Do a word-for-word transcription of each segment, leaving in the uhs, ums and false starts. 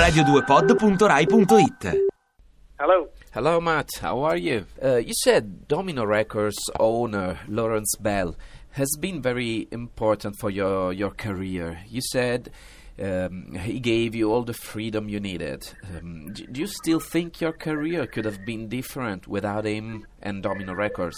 radio due pod punto rai punto it. Hello. Hello, Matt. How are you? Uh, you said Domino Records owner Lawrence Bell has been very important for your, your career. You said um, he gave you all the freedom you needed. Um, do, do you still think your career could have been different without him and Domino Records?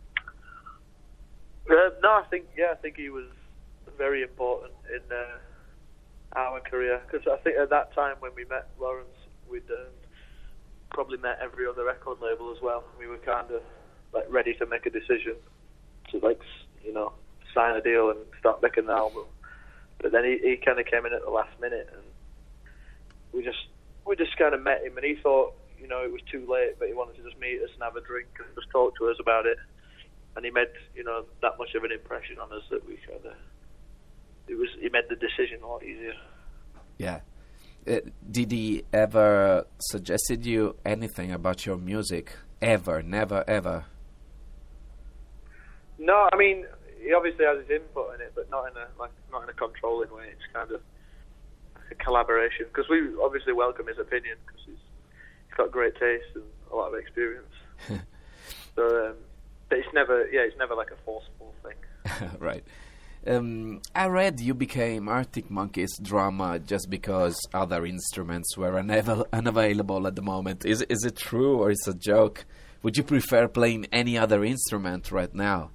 Uh, no, I think yeah, I think he was very important in uh, our career, because I think at that time when we met Lawrence, we'd um, probably met every other record label as well. We were kind of like ready to make a decision to like you know sign a deal and start making the album. But then he, he kind of came in at the last minute, and we just we just kind of met him, and he thought you know it was too late, but he wanted to just meet us and have a drink and just talk to us about it. And he made, you know, that much of an impression on us that we kind of, it was, he made the decision a lot easier. Yeah. Uh, did he ever suggested you anything about your music? Ever? Never, ever? No, I mean, he obviously has his input in it, but not in a, like, not in a controlling way. It's kind of a collaboration, because we obviously welcome his opinion, because he's, he's got great taste and a lot of experience. so, um, But it's never, yeah, it's never like a forceful thing. Right. Um, I read you became Arctic Monkeys drummer just because other instruments were unav- unavailable at the moment. Is is it true or is it a joke? Would you prefer playing any other instrument right now?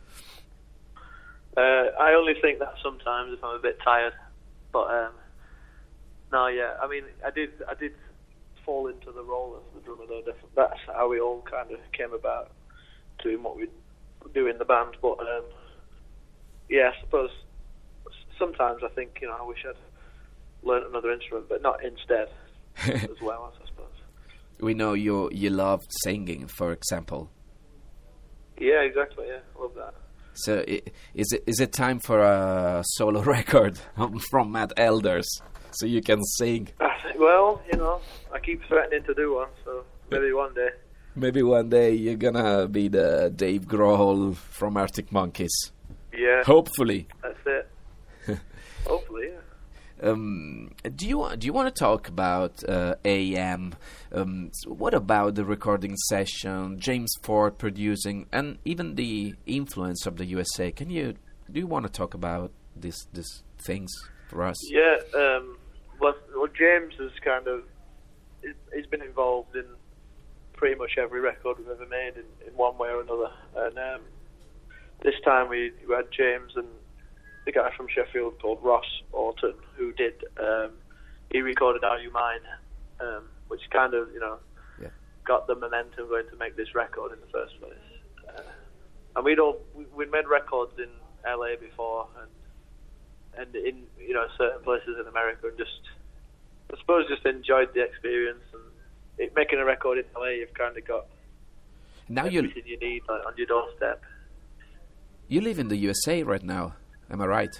Uh, I only think that sometimes if I'm a bit tired. But um, no, yeah, I mean, I did, I did fall into the role as the drummer though. That's how we all kind of came about doing what we do in the band, but um, yeah, I suppose sometimes I think you know I wish I'd learned another instrument, but not instead as well. I suppose. We know you you love singing, for example. Yeah, exactly. Yeah, I love that. So, I, is it is it time for a solo record from Matt Elders so you can sing? Well, you know, I keep threatening to do one, so maybe one day. Maybe one day you're gonna be the Dave Grohl from Arctic Monkeys. Yeah. Hopefully. That's it. Hopefully, yeah. Um, do you do you want to talk about uh, A M? Um, so what about the recording session, James Ford producing, and even the influence of the U S A? Can you do you want to talk about these these things for us? Yeah. Um, well, well, James has kind of he's been involved in pretty much every record we've ever made in, in one way or another. And um, this time we, we had James and the guy from Sheffield called Ross Orton, who did, um, he recorded Are You Mine, um, which kind of, you know, yeah. got the momentum going to make this record in the first place. Uh, and we'd all, we, we'd made records in L A before and and in, you know, certain places in America, and just, I suppose just enjoyed the experience. And It, making a record in L A, you've kind of got now everything you need like, on your doorstep. You live in the U S A right now, am I right?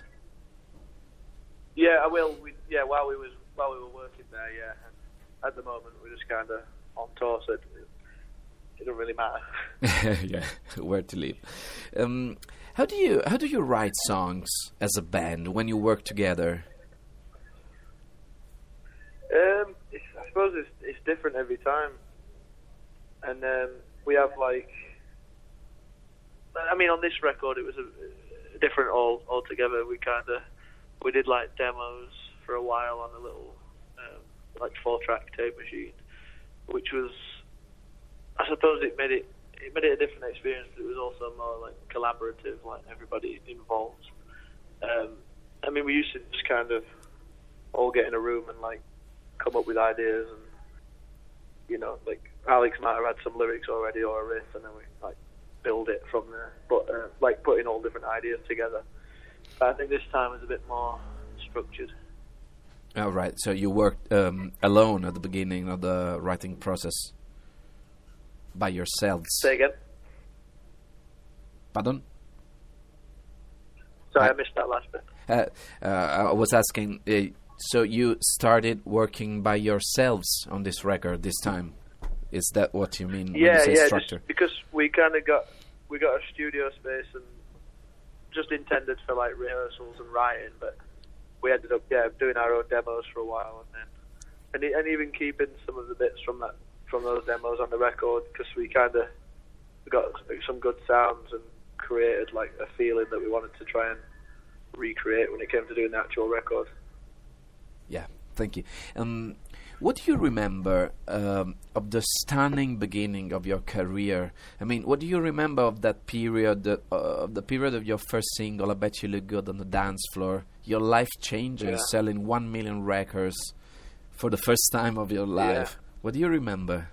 Yeah, I will. We, yeah, while we was while we were working there, yeah. And at the moment, we're just kind of on tour, so it, it don't really matter. Yeah, where to live. Um, how do you how do you write songs as a band when you work together? Um. I suppose it's, it's different every time, and um, we have like, I mean, on this record it was a, a different all altogether. We kind of we did like demos for a while on a little um, like four track tape machine, which was, I suppose it made it it made it a different experience, but it was also more like collaborative, like everybody involved. Um, I mean, we used to just kind of all get in a room and like come up with ideas, and you know, like Alex might have had some lyrics already or a riff, and then we like build it from there. But uh, like putting all different ideas together. But I think this time is a bit more structured. Oh, right. So you worked um, alone at the beginning of the writing process, by yourselves. Say again. Pardon? Sorry, I, I missed that last bit. Uh, uh, I was asking. Uh, So you started working by yourselves on this record this time? Is that what you mean when yeah, you say yeah, structure? Just because we kind of got we got a studio space and just intended for like rehearsals and writing, but we ended up yeah doing our own demos for a while, and then and e- and even keeping some of the bits from that from those demos on the record, because we kind of got like, some good sounds and created like a feeling that we wanted to try and recreate when it came to doing the actual record. Yeah, thank you. Um, what do you remember um, of the stunning beginning of your career? I mean, what do you remember of that period, uh, of the period of your first single, I Bet You Look Good on the Dance Floor, your life changes, Yeah. selling one million records for the first time of your life? Yeah. What do you remember?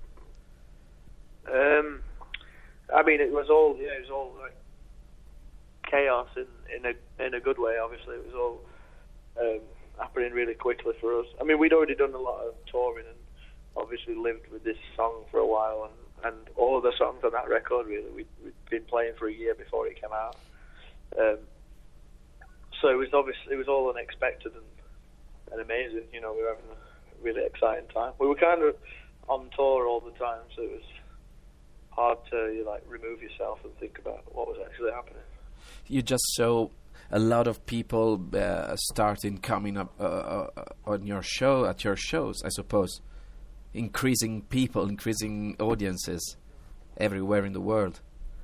Um, I mean, it was all yeah, it was all like chaos in in a in a good way. Obviously, it was all um, happening really quickly for us. I mean, we'd already done a lot of touring and obviously lived with this song for a while, and, and all of the songs on that record really we'd, we'd been playing for a year before it came out. Um, so it was obviously it was all unexpected and, and amazing. You know, we were having a really exciting time. We were kind of on tour all the time, so it was hard to you like remove yourself and think about what was actually happening. You just saw a lot of people uh, starting coming up uh, uh, on your show, at your shows, I suppose. Increasing people, increasing audiences everywhere in the world.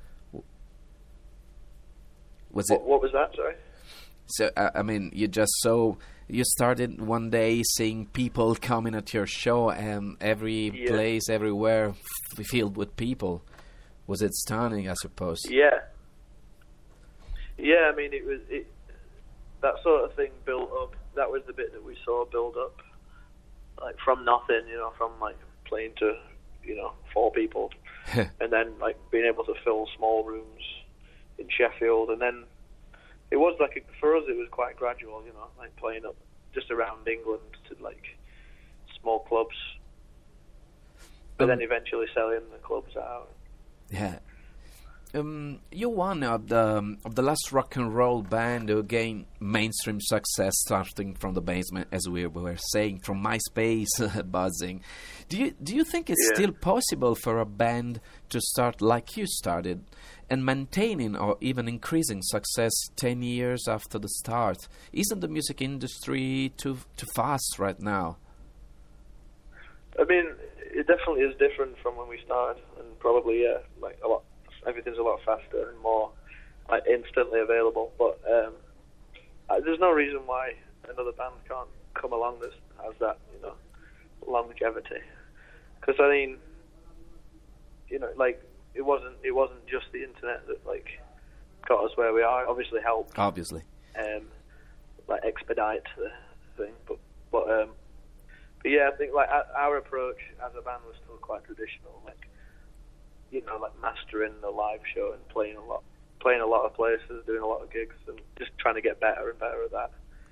Was What, it? what was that? Sorry. So uh, I mean, you just saw. You started one day seeing people coming at your show, and every Yeah. place, everywhere, f- filled with people. Was it stunning? I suppose. Yeah. Yeah, I mean, it was it. That sort of thing built up. That was the bit that we saw build up, like from nothing, you know, from like playing to, you know, four people, and then like being able to fill small rooms in Sheffield, and then it was like a, for us it was quite gradual, you know, like playing up just around England to like small clubs, but Um, then eventually selling the clubs out. Yeah. Um, you're one of the um, of the last rock and roll band who gained mainstream success, starting from the basement, as we were saying, from MySpace buzzing. Do you do you think it's Yeah. still possible for a band to start like you started, and maintaining or even increasing success ten years after the start? Isn't the music industry too too fast right now? I mean, it definitely is different from when we started, and probably yeah, like a lot. Everything's a lot faster and more like instantly available. But um, uh, there's no reason why another band can't come along that has that, you know, longevity. Because I mean, you know, like it wasn't it wasn't just the internet that like got us where we are. It obviously helped, Obviously. um, like expedite the thing. But but um, but yeah, I think like our, our approach as a band was still quite traditional, like. You know, like mastering the live show and playing a lot, playing a lot of places, doing a lot of gigs, and just trying to get better and better at that.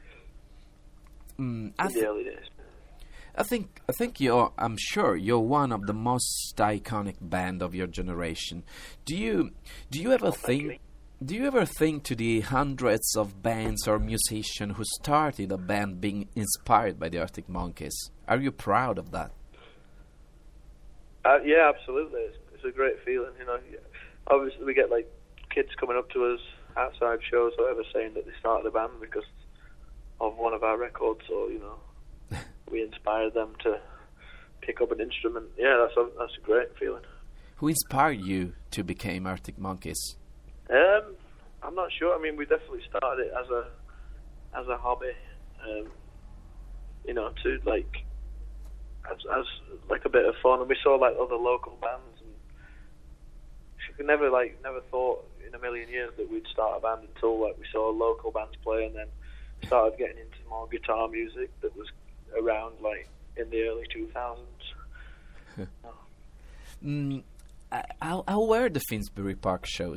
Mm, I In the th- early days. I think I think you're I'm sure you're one of the most iconic band of your generation. Do you do you ever think do you ever think to the hundreds of bands or musicians who started a band being inspired by the Arctic Monkeys? Are you proud of that? Uh, yeah, absolutely. It's, it's a great feeling, you know. Obviously, we get like kids coming up to us outside shows or whatever saying that they started a band because of one of our records, or you know, we inspired them to pick up an instrument. Yeah, that's a, that's a great feeling. Who inspired you to become Arctic Monkeys? Um, I'm not sure. I mean, we definitely started it as a as a hobby, um, you know, to like as, as like a bit of fun. And we saw like other local bands, and we never like never thought in a million years that we'd start a band until like we saw local bands play, and then started getting into more guitar music that was around like in the early two thousands. Mm, uh, how, how were the Finsbury Park shows?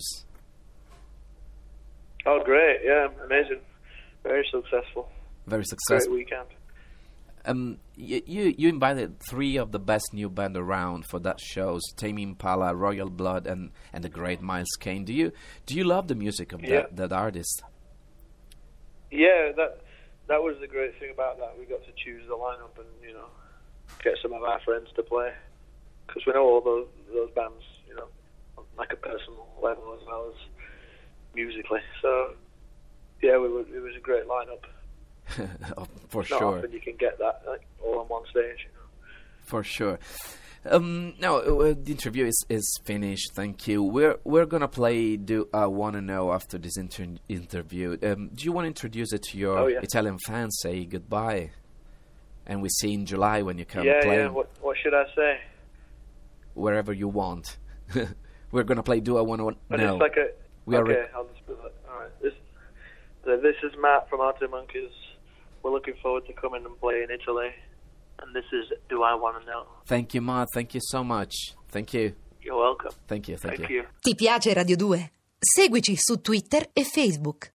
Oh, great! Yeah, amazing. Very successful. Very Great successful. weekend. Um, y- you you invited three of the best new band around for that shows: Tame Impala, Royal Blood, and and the great Miles Kane. Do you do you love the music of Yeah. that that artist? Yeah, that that was the great thing about that. We got to choose the lineup and you know get some of our friends to play, because we know all those those bands, you know, on like a personal level as well as musically. So yeah, we were, it was a great lineup. Oh, for Not sure. often you can get that like, all on one stage. For sure. Um, now uh, the interview is, is finished. Thank you. We're we're gonna play "Do I Wanna Know" after this inter- interview. Um, do you want to introduce it to your Oh, yeah. Italian fans? Say goodbye, and we see in July when you come yeah, play yeah. What what should I say? wherever you want. We're gonna play "Do I Wanna And Know." it's like a We are okay. rec- I'll just put that. All right. This uh, this is Matt from Arctic Monkeys. We're looking forward to coming and play in Italy. And this is "Do I Wanna Know." Thank you, Matt. Thank you so much. Thank you. You're welcome. Thank you. Thank, Thank you. you. Ti piace Radio due? Seguici su Twitter e Facebook.